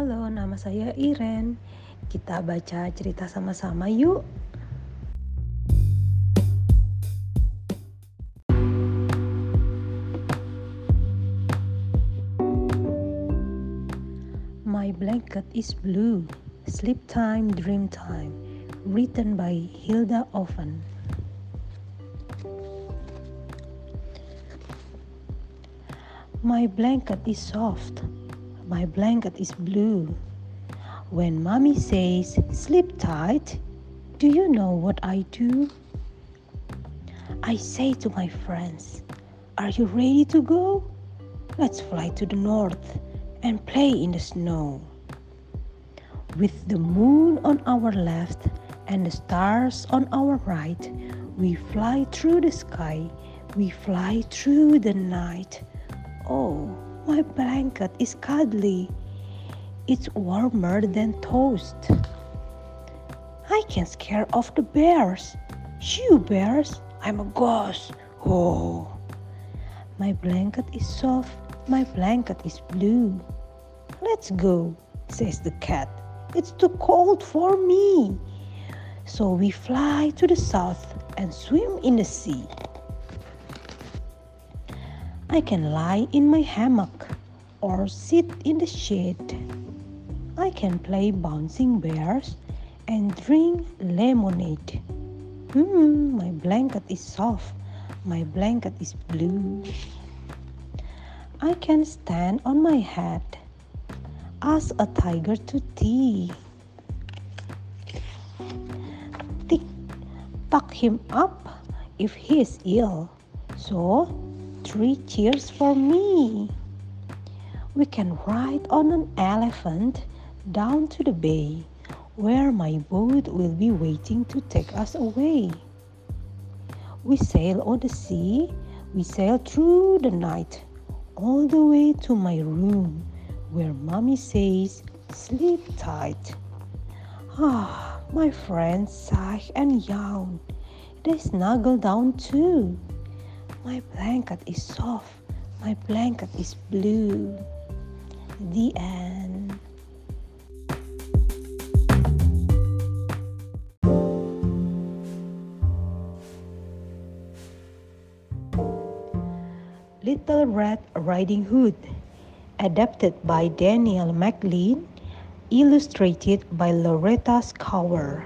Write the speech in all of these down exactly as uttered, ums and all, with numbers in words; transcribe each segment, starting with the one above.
Halo, nama saya Iren. Kita baca cerita sama-sama yuk. My Blanket is Blue, Sleep Time, Dream Time, written by Hilda Oven. My blanket is soft, my blanket is blue. When mommy says, sleep tight, do you know what I do? I say to my friends, are you ready to go? Let's fly to the north and play in the snow. With the moon on our left and the stars on our right, we fly through the sky, we fly through the night. Oh, my blanket is cuddly. It's warmer than toast. I can scare off the bears. Shoo, bears, I'm a ghost. Oh, my blanket is soft, my blanket is blue. Let's go, says the cat. It's too cold for me. So we fly to the south and swim in the sea. I can lie in my hammock or sit in the shade. I can play bouncing bears and drink lemonade. Hmm, my blanket is soft, my blanket is blue. I can stand on my head, ask a tiger to tea. Tick, tuck him up if he is ill. So, three cheers for me. We can ride on an elephant down to the bay, where my boat will be waiting to take us away. We sail on the sea, we sail through the night, all the way to my room, where mommy says, sleep tight. Ah, my friends sigh and yawn. They snuggle down too. My blanket is soft, my blanket is blue. The end. Little Red Riding Hood, adapted by Daniel McLean, illustrated by Loretta Scower.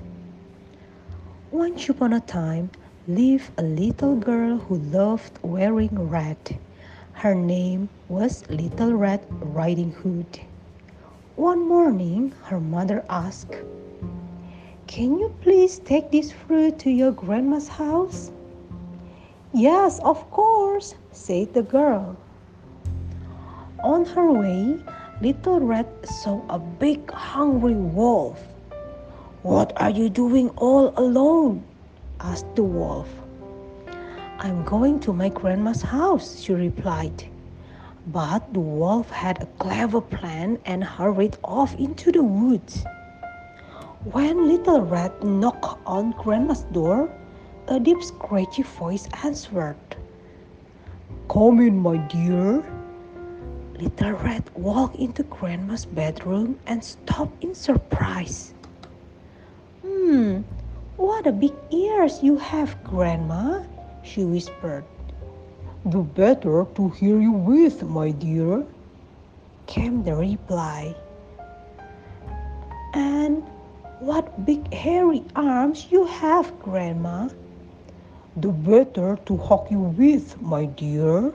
Once upon a time lived a little girl who loved wearing red. Her name was Little Red Riding Hood. One morning, her mother asked, "Can you please take this fruit to your grandma's house?" "Yes, of course," said the girl. On her way, Little Red saw a big hungry wolf. "What are you doing all alone?" asked the wolf. "I'm going to my grandma's house," she replied. But the wolf had a clever plan and hurried off into the woods. When Little Red knocked on Grandma's door, a deep scratchy voice answered. "Come in, my dear." Little Red walked into Grandma's bedroom and stopped in surprise. "Hmm, what a big ears you have, Grandma," she whispered. "The better to hear you with, my dear," came the reply. "And what big hairy arms you have, Grandma." "The better to hug you with, my dear."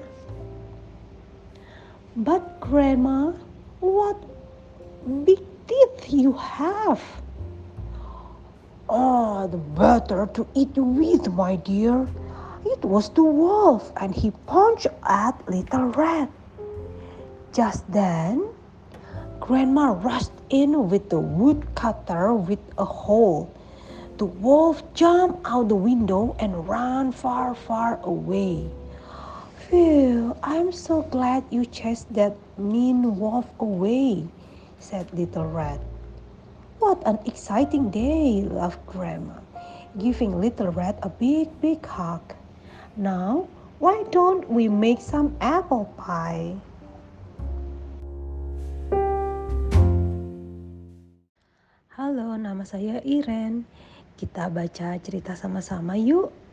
"But Grandma, what big teeth you have." "Oh, the better to eat you with, my dear." It was the wolf, and he punched at Little Red. Just then, Grandma rushed in with the woodcutter with a hoe. The wolf jumped out the window and ran far, far away. "Phew, I'm so glad you chased that mean wolf away," said Little Red. "What an exciting day," laughed Grandma, giving Little Red a big, big hug. "Now, why don't we make some apple pie?" nama saya Iren. Kita baca cerita sama-sama yuk.